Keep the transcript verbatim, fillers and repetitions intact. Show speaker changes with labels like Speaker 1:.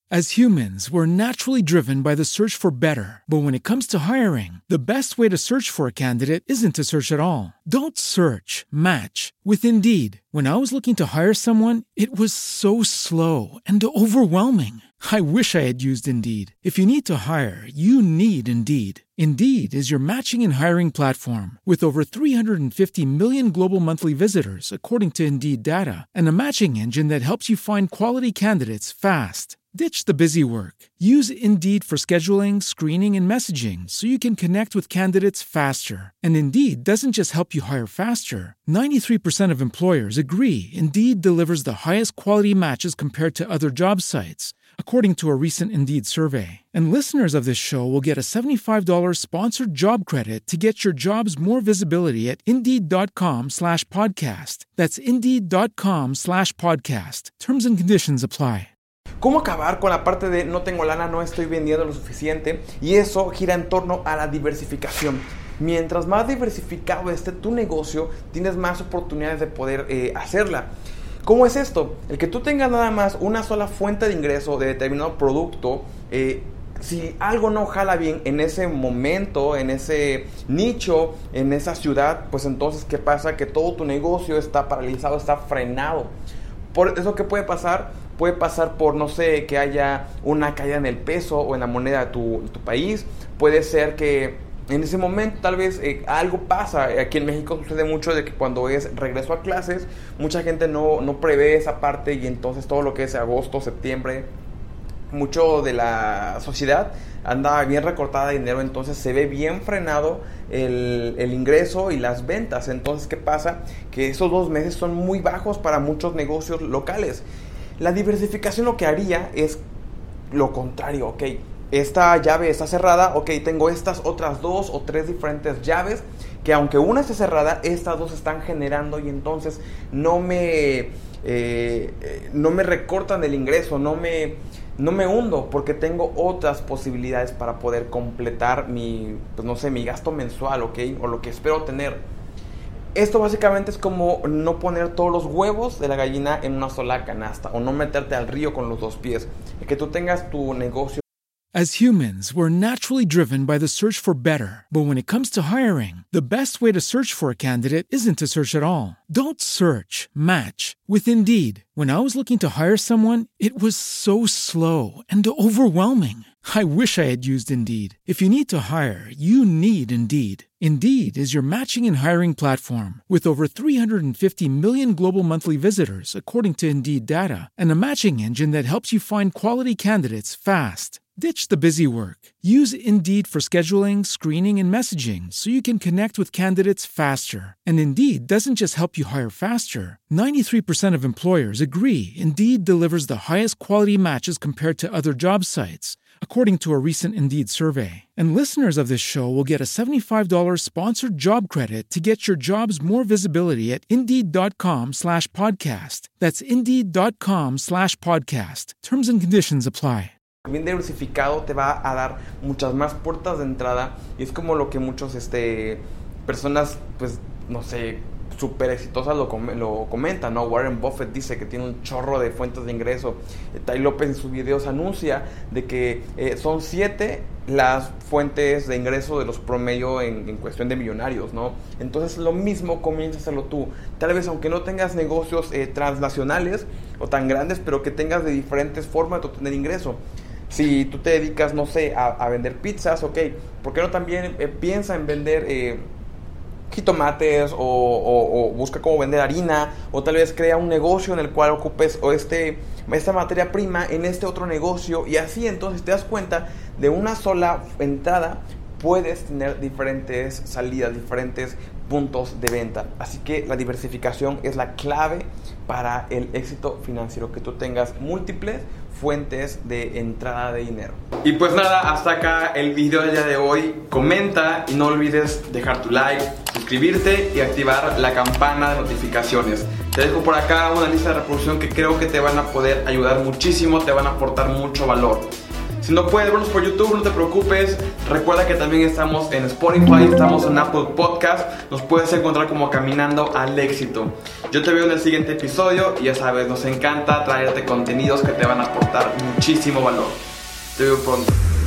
Speaker 1: As humans, we're naturally driven by the search for better. But when it comes to hiring, the best way to search for a candidate isn't to search at all. Don't search, match with Indeed. When I was looking to hire someone, it was so slow and overwhelming. I wish I had used Indeed. If you need to hire, you need Indeed. Indeed is your matching and hiring platform with over three hundred fifty million global monthly visitors, according to Indeed data, and a matching engine that helps you find quality candidates fast. Ditch the busy work. Use Indeed for scheduling, screening, and messaging so you can connect with candidates faster. And Indeed doesn't just help you hire faster. ninety-three percent of employers agree Indeed delivers the highest quality matches compared to other job sites, according to a recent Indeed survey. And listeners of this show will get a seventy-five dollars sponsored job credit to get your jobs more visibility at Indeed.com slash podcast. That's Indeed.com slash podcast. Terms and conditions apply.
Speaker 2: ¿Cómo acabar con la parte de no tengo lana, no estoy vendiendo lo suficiente? Y eso gira en torno a la diversificación. Mientras más diversificado esté tu negocio, tienes más oportunidades de poder eh, hacerla. ¿Cómo es esto? El que tú tengas nada más una sola fuente de ingreso de determinado producto, eh, si algo no jala bien en ese momento, en ese nicho, en esa ciudad, pues entonces, ¿qué pasa? Que todo tu negocio está paralizado, está frenado. Por eso, ¿qué puede pasar? Puede pasar por, no sé, que haya una caída en el peso o en la moneda de tu, de tu país. Puede ser que en ese momento tal vez eh, algo pasa. Aquí en México sucede mucho de que cuando es regreso a clases, mucha gente no, no prevé esa parte y entonces todo lo que es agosto, septiembre, mucho de la sociedad anda bien recortada de dinero, entonces se ve bien frenado el, el ingreso y las ventas. Entonces, ¿qué pasa? Que esos dos meses son muy bajos para muchos negocios locales. La diversificación lo que haría es lo contrario, ok, esta llave está cerrada, ok, tengo estas otras dos o tres diferentes llaves que aunque una esté cerrada, estas dos están generando y entonces no me, eh, no me recortan el ingreso, no me, no me hundo porque tengo otras posibilidades para poder completar mi, pues no sé, mi gasto mensual, ok, o lo que espero tener. Esto básicamente es como no poner todos los huevos de la gallina en una sola canasta o no meterte al río con los dos pies. Que tú tengas tu negocio.
Speaker 1: As humans, we're naturally driven by the search for better. But when it comes to hiring, the best way to search for a candidate isn't to search at all. Don't search, match with Indeed. When I was looking to hire someone, it was so slow and overwhelming. I wish I had used Indeed. If you need to hire, you need Indeed. Indeed is your matching and hiring platform with over three hundred fifty million global monthly visitors, according to Indeed data, and a matching engine that helps you find quality candidates fast. Ditch the busy work. Use Indeed for scheduling, screening, and messaging so you can connect with candidates faster. And Indeed doesn't just help you hire faster. ninety-three percent of employers agree Indeed delivers the highest quality matches compared to other job sites, according to a recent Indeed survey. And listeners of this show will get a seventy-five dollars sponsored job credit to get your jobs more visibility at Indeed.com slash podcast. That's Indeed.com slash podcast. Terms and conditions apply.
Speaker 2: Bien diversificado te va a dar muchas más puertas de entrada y es como lo que muchos este, personas, pues, no sé, súper exitosas lo, com- lo comentan, ¿no? Warren Buffett dice que tiene un chorro de fuentes de ingreso. Eh, Tai López en sus videos anuncia de que eh, son siete las fuentes de ingreso de los promedio en, en cuestión de millonarios, ¿no? Entonces lo mismo comienza a hacerlo tú. Tal vez aunque no tengas negocios eh, transnacionales o tan grandes, pero que tengas de diferentes formas de obtener ingreso. Si tú te dedicas, no sé, a, a vender pizzas, ok, ¿por qué no también eh, piensa en vender eh, jitomates o, o, o busca cómo vender harina, o tal vez crea un negocio en el cual ocupes o este, esta materia prima en este otro negocio y así entonces te das cuenta de una sola entrada puedes tener diferentes salidas, diferentes puntos de venta. Así que la diversificación es la clave para el éxito financiero, que tú tengas múltiples fuentes de entrada de dinero. Y pues nada, hasta acá el video del día de hoy. Comenta y no olvides dejar tu like, suscribirte y activar la campana de notificaciones. Te dejo por acá una lista de reproducción que creo que te van a poder ayudar muchísimo, te van a aportar mucho valor. Si no puedes vernos por YouTube, no te preocupes. Recuerda que también estamos en Spotify, estamos en Apple Podcast. Nos puedes encontrar como Caminando al Éxito. Yo te veo en el siguiente episodio y ya sabes, nos encanta traerte contenidos que te van a aportar muchísimo valor. Te veo pronto.